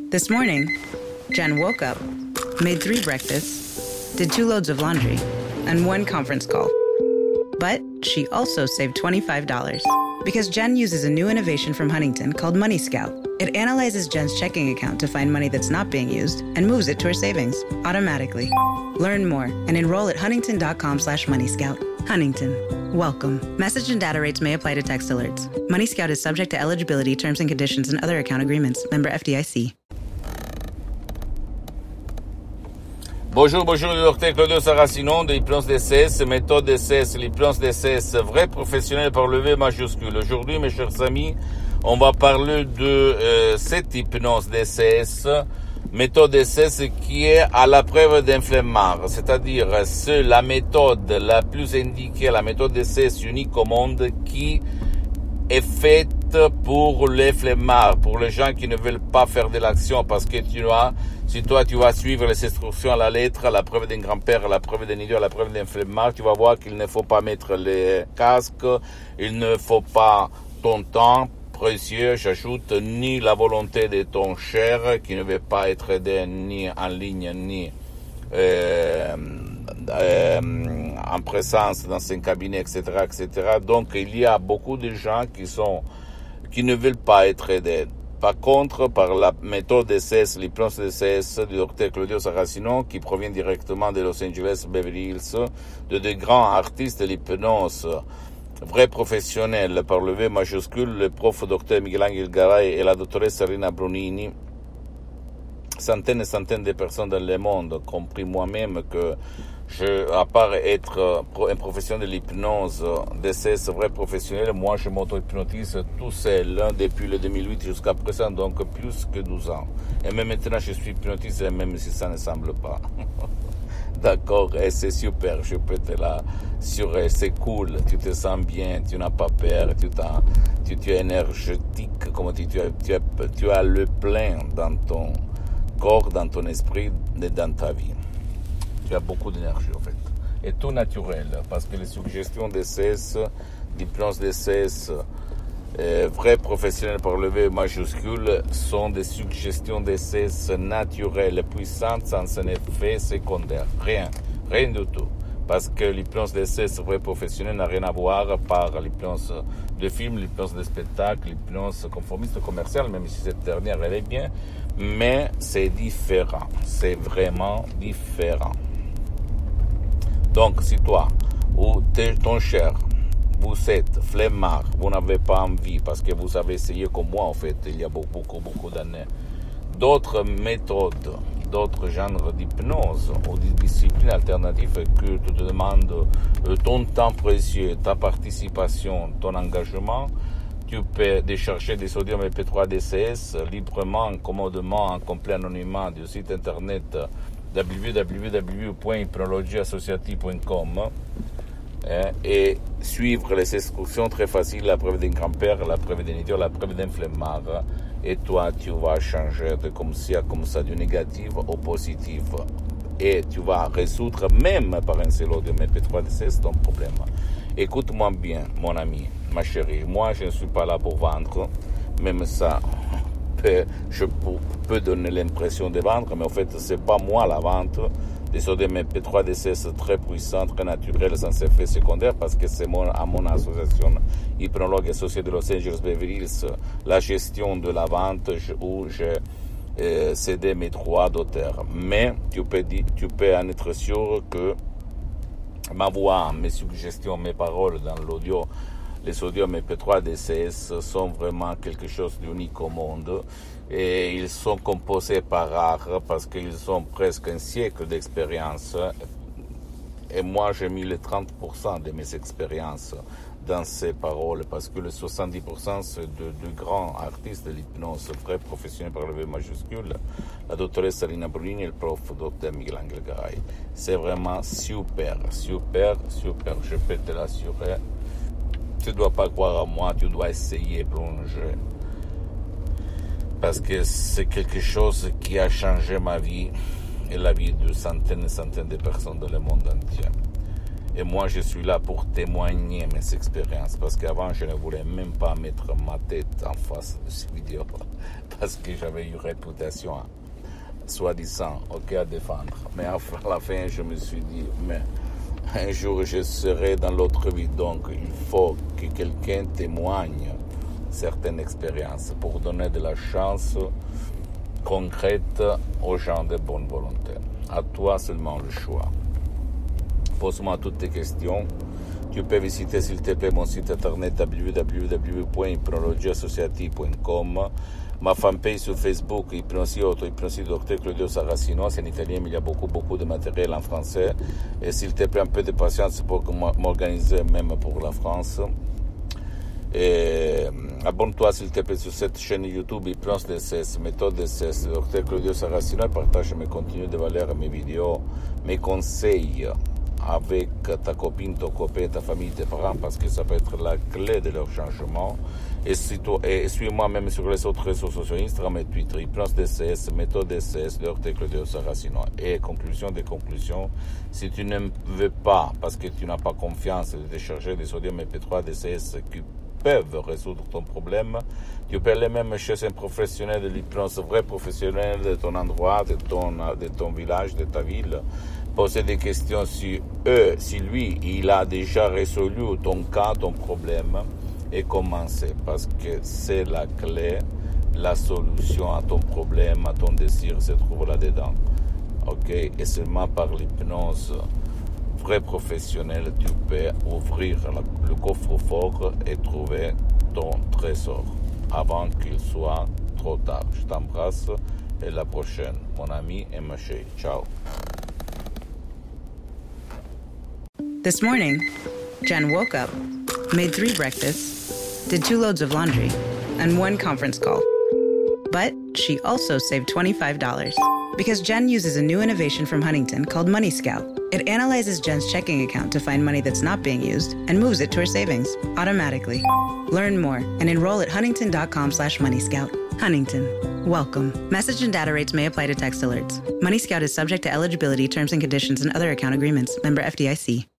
This morning, Jen woke up, made 3 breakfasts, did 2 loads of laundry, and 1 conference call. But she also saved $25 because Jen uses a new innovation from Huntington called Money Scout. It analyzes Jen's checking account to find money that's not being used and moves it to her savings automatically. Learn more and enroll at huntington.com/moneyscout. Huntington. Welcome. Message and data rates may apply to text alerts. Money Scout is subject to eligibility, terms and conditions, and other account agreements. Member FDIC. Bonjour, le docteur Claudio Saracino de l'hypnose DCS, méthode DCS, l'hypnose DCS, vrai professionnel par le V majuscule. Aujourd'hui, mes chers amis, on va parler de cette hypnose DCS, méthode DCS qui est à la preuve d'un flemmard, c'est-à-dire c'est la méthode la plus indiquée, la méthode DCS unique au monde qui est faite pour les flemmards, pour les gens qui ne veulent pas faire de l'action, parce que si toi tu vas suivre les instructions à la lettre, à la preuve d'un grand-père, à la preuve d'un idiot, à la preuve d'un flemmard, tu vas voir qu'il ne faut pas mettre les casques, il ne faut pas ton temps précieux, j'ajoute, ni la volonté de ton cher, qui ne veut pas être aidé ni en ligne, ni en présence dans un cabinet, etc., etc. Donc, il y a beaucoup de gens qui ne veulent pas être aidés. Par contre, par la méthode DCS, l'hypnose DCS du docteur Claudio Saracino, qui provient directement de Los Angeles, Beverly Hills, de grands artistes de l'hypnose, vrais professionnels, par le V majuscule, le prof docteur Michelangelo Garay et la doctoresse Rina Brunini, centaines et centaines de personnes dans le monde, compris moi-même, que à part être un professionnel de l'hypnose, DCS vrai professionnel, moi je m'auto-hypnotise tout seul depuis le 2008 jusqu'à présent, donc plus que 12 ans. Et même maintenant je suis hypnotisé, même si ça ne semble pas. D'accord, et c'est super, je peux te l'assurer, c'est cool, tu te sens bien, tu n'as pas peur, tu es énergétique, comme tu as le plein dans ton corps, dans ton esprit et dans ta vie. Tu as beaucoup d'énergie en fait. Et tout naturel, parce que les suggestions DCS, l'hypnose DCS, vrais professionnels par le V majuscule, sont des suggestions DCS naturelles, puissantes, sans un effet secondaire. Rien du tout. Parce que l'hypnose DCS vrai professionnel n'a rien à voir par l'hypnose de film, l'hypnose de spectacle, l'hypnose conformiste commerciale, même si cette dernière elle est bien, mais c'est différent. C'est vraiment différent. Donc, si toi ou ton cher, vous êtes flemmard, vous n'avez pas envie, parce que vous avez essayé comme moi, en fait, il y a beaucoup d'années, d'autres méthodes, d'autres genres d'hypnose ou de disciplines alternatives que tu te demandes ton temps précieux, ta participation, ton engagement, tu peux décharger des sodium MP3 DCS librement, commodement, en complet anonymat du site internet www.hypnologieassociative.com et suivre les instructions très faciles, la preuve d'un grand-père, la preuve d'un idiot, la preuve d'un flemmard, et toi tu vas changer de comme ça, du négatif au positif, et tu vas résoudre même par un seul audio MP3 DCS ton problème. Écoute-moi bien, mon ami, ma chérie, moi je ne suis pas là pour vendre, même ça je peux donner l'impression de vendre, mais en fait c'est pas moi la vente des sodium MP3 DCS très puissants, très naturels, sans effet secondaire, parce que c'est à mon association hypnologue associée de Los Angeles Beverly Hills la gestion de la vente où j'ai cédé mes droits d'auteur. Mais tu peux en être sûr que ma voix, mes suggestions, mes paroles dans l'audio, les sodium MP3 DCS sont vraiment quelque chose d'unique au monde, et ils sont composés par art parce qu'ils ont presque un siècle d'expérience, et moi j'ai mis les 30% de mes expériences dans ces paroles, parce que les 70% c'est de grands artistes de l'hypnose, vrais professionnels par le V majuscule, la doctoresse Rina Brunini et le prof docteur Michelangelo Garay. C'est vraiment super, je peux te l'assurer. Tu ne dois pas croire à moi, tu dois essayer, plonger. Parce que c'est quelque chose qui a changé ma vie et la vie de centaines et centaines de personnes dans le monde entier. Et moi, je suis là pour témoigner mes expériences. Parce qu'avant, je ne voulais même pas mettre ma tête en face de ces vidéos. Parce que j'avais une réputation, soi-disant, à défendre. Mais à la fin, je me suis dit, mais un jour, je serai dans l'autre vie. Donc, il faut que quelqu'un témoigne certaines expériences pour donner de la chance concrète aux gens de bonne volonté. À toi seulement le choix. Pose-moi toutes tes questions. Tu peux visiter s'il te plaît mon site internet www.hypnologieassociative.com, ma fanpage sur Facebook, Hypnosie Auto, Hypnosie Dr Claudio Saracino, c'est en italien mais il y a beaucoup de matériel en français. Et s'il te plaît un peu de patience pour m'organiser même pour la France. Et abonne-toi s'il te plaît sur cette chaîne YouTube Hypnose DCS, méthode DCS, Dr Claudio Saracino, et partage mes contenus de valeur, mes vidéos, mes conseils avec ta copine, ton copain, ta famille, tes parents, parce que ça peut être la clé de leur changement. Et suis-moi même sur les autres réseaux sociaux, Instagram et Twitter, Hypnose DCS, méthode DCS, Dr Claudio Saracino. Et conclusion des conclusions, si tu ne veux pas, parce que tu n'as pas confiance, de décharger des sodium MP3 DCS qui peuvent résoudre ton problème, tu peux aller même chez un professionnel de l'hypnose, vrai professionnel de ton endroit, de ton village, de ta ville, poser des questions sur eux, si lui, il a déjà résolu ton cas, ton problème, et commencer, parce que c'est la clé, la solution à ton problème, à ton désir se trouve là-dedans. Et seulement par l'hypnose vrai professionnel, tu peux ouvrir le coffre-fort et trouver ton trésor avant qu'il soit trop tard. Je t'embrasse et la prochaine, mon ami et ma chérie. Ciao. This morning, Jen woke up, made 3 breakfasts, did 2 loads of laundry, and 1 conference call. But she also saved $25 because Jen uses a new innovation from Huntington called Money Scout. It analyzes Jen's checking account to find money that's not being used and moves it to her savings automatically. Learn more and enroll at huntington.com/moneyscout. Huntington. Welcome. Message and data rates may apply to text alerts. Money Scout is subject to eligibility, terms and conditions, and other account agreements. Member FDIC.